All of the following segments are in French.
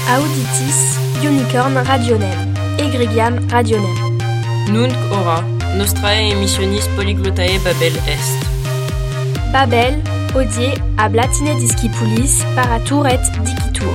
Auditis unicorn radionem, egregiam radionem. Nunc ora, nostrae emissionis polyglottae Babel est. Babel, hodie ab latine discipulis paratur et dicitur.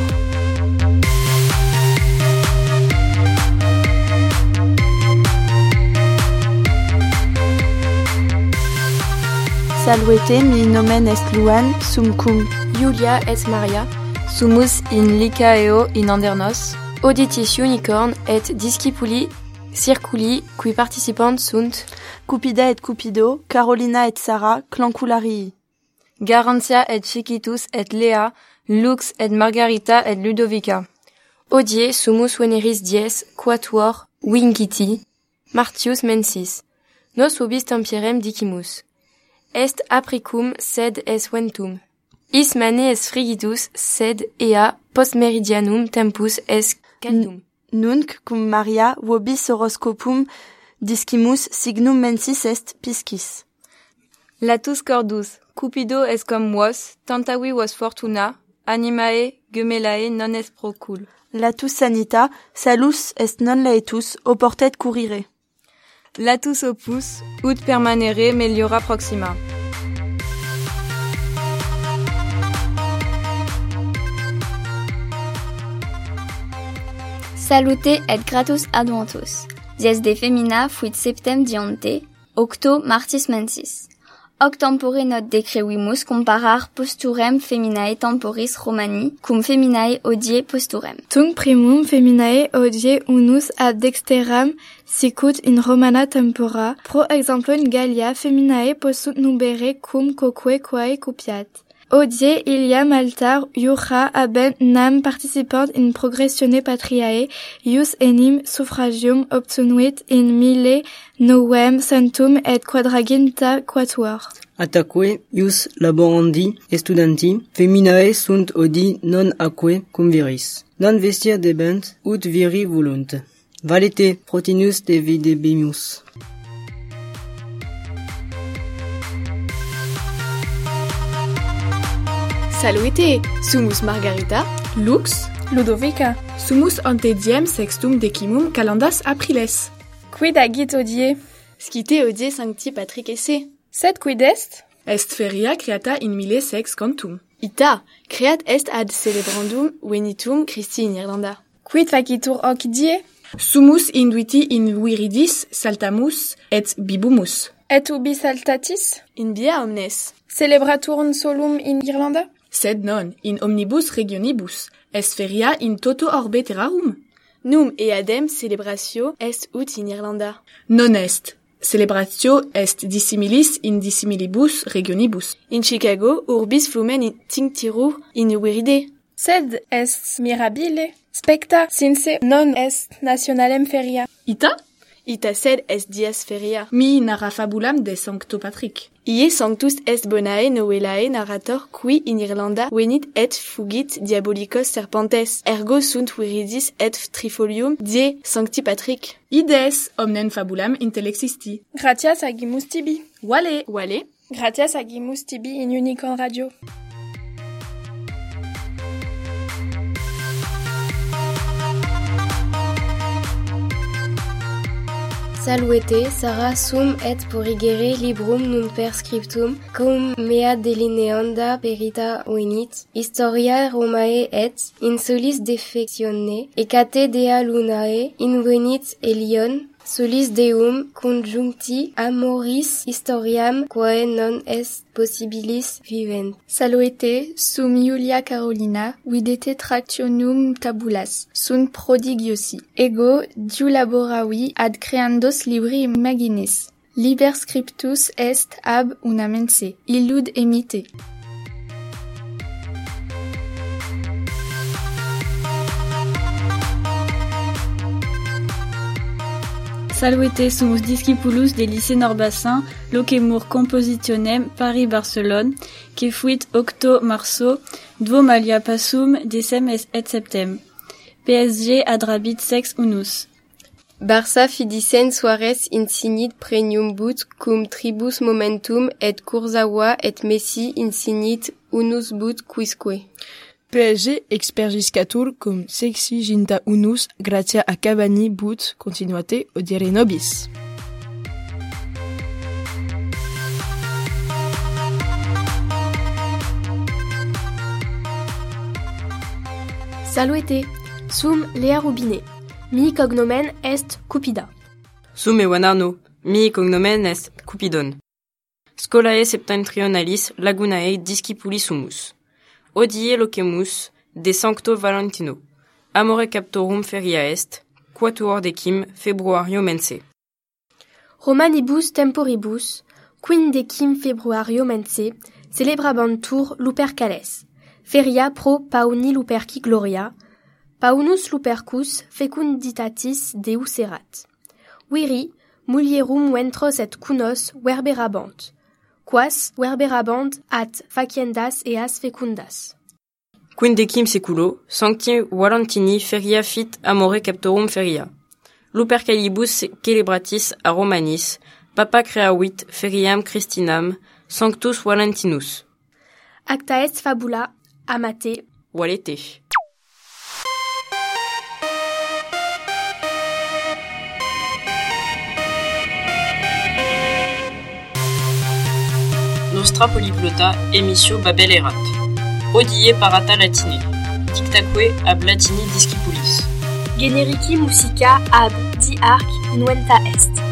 Salvete mi nomen est Luan, sum cum Julia et Maria, sumus in Lycaeo in Andernos, auditis unicorn et discipuli circuli qui participant sunt Cupida et Cupido, Carolina et Sarah, clancularii. Garantia et Chiquitus et Lea, Lux et Margarita et Ludovica. Hodie sumus veneris dies quatuor Wingiti, Martius mensis. Nos ubis tempierem dicimus. Est apricum sed es ventum. Is mane es frigitus sed ea post meridianum tempus es caldum. Nunc cum Maria vobis horoscopum discimus signum mensis est piscis. Latus cordus, Cupido est cum vos, tantavi vos fortuna, animae gemelae non est procul. Latus sanita, salus est non laetus, oportet currire. Latus opus, ut permanere meliora proxima. Salute et gratus adventus. Dies de femina fuit septem diante, octo martis mensis. Hoc tempore not decrevimus comparar posturem feminae temporis Romani cum feminae hodie posturem. Tunc primum feminae hodie unus ad dexteram sicut in Romana tempora, pro exemplum Gallia feminae possunt nubere cum quoque quae cupiat. Hodie iliam altar iura habent nam participant in progressione patriae, ius enim suffragium obtunuit in mille novem centum et quadraginta quatuor. Ataque ius laborandi estudanti, feminae sunt odi non aquae cum viris. Non vestir debent, ut viri volunt. Valete protinus de videbimus. Salute, sumus Margarita, Lux, Ludovica, sumus ante diem sextum decimum calendas apriles. Quid agit hodie? Scite hodie sancti Patrick esse. Sed quid est? Est feria creata in mille sex cantum. Ita, creat est ad celebrandum venitum Christi in Irlanda. Quid facitur hoc die? Sumus induiti in viridis saltamus et bibumus. Et ubi saltatis? In via omnes. Celebraturn solum in Irlanda? Sed non, in omnibus regionibus. Est feria in toto orbe terrarum. Num eadem celebratio est ut in Irlanda. Non est. Celebratio est dissimilis in dissimilibus regionibus. In Chicago, urbis flumen in tinctirur in viride. Sed est mirabile. Specta, since non est nationalem feria. Ita? Ita sed est dies feria. Mi narra fabulam de Sancto Patrick. Ie sanctus est bonae novelae narrator qui in Irlanda venit et fugit diabolicos serpentes. Ergo sunt viridis et trifolium die Sancti Patrick. Ides omnem fabulam intellexisti. Gratias agimus tibi. Vale. Gratias agimus tibi in Unicorn Radio. Salvete, Sarah sum et porigere librum nun per scriptum, cum mea delineanda perita venit, historia Romae et, in solis defectione, ecate dea lunae, invenit Elion, solis deum conjuncti amoris historiam quae non est possibilis vivent. Salvete, sum Julia Carolina, videte tractionum tabulas, sunt prodigiosi. Ego, diu laboravi ad creandos libri imaginis. Liber scriptus est ab una mense, illud emite. Salvete sumus discipulus de lycée Norbassin, locemur compositionem Paris-Barcelone, que fuit octo marso, dvom alia passum decem et septem. PSG adrabit sex unus. Barça fidicen soares insignit premium but cum tribus momentum et Kurzawa et Messi insignit unus but quisque. PSG expergiscatur cum sexi ginta unus gratia a Cavani but continuate odiere nobis. Saluete, sum Lea Rubine, mi cognomen est Cupida. Sum Ewanarno, mi cognomen est Cupidon. Scolae septentrionalis lagunae discipulis humus. Odie locemus de sancto Valentino. Amore captorum feria est, quatuor decim februario mense. Romanibus temporibus, quindecim februario mense, celebrabantur Lupercales. Feria pro pauni Luperci gloria, paunus Lupercus fecunditatis Deus erat. Viri, mulierum ventros et cunos verberabant, quas verberabant at faciendas eas fecundas. Quindecim seculo, sancti Valentini feria fit amore captorum feria. Lupercalibus celebratis a Romanis, papa creavit feriam Christinam, sanctus Valentinus. Acta est fabula, amate, Valete. Nostra polyglotta emitio Babel erat. Odie parata latine. Dictaque ab latini discipulis. generici musica ab di arc inuenta est.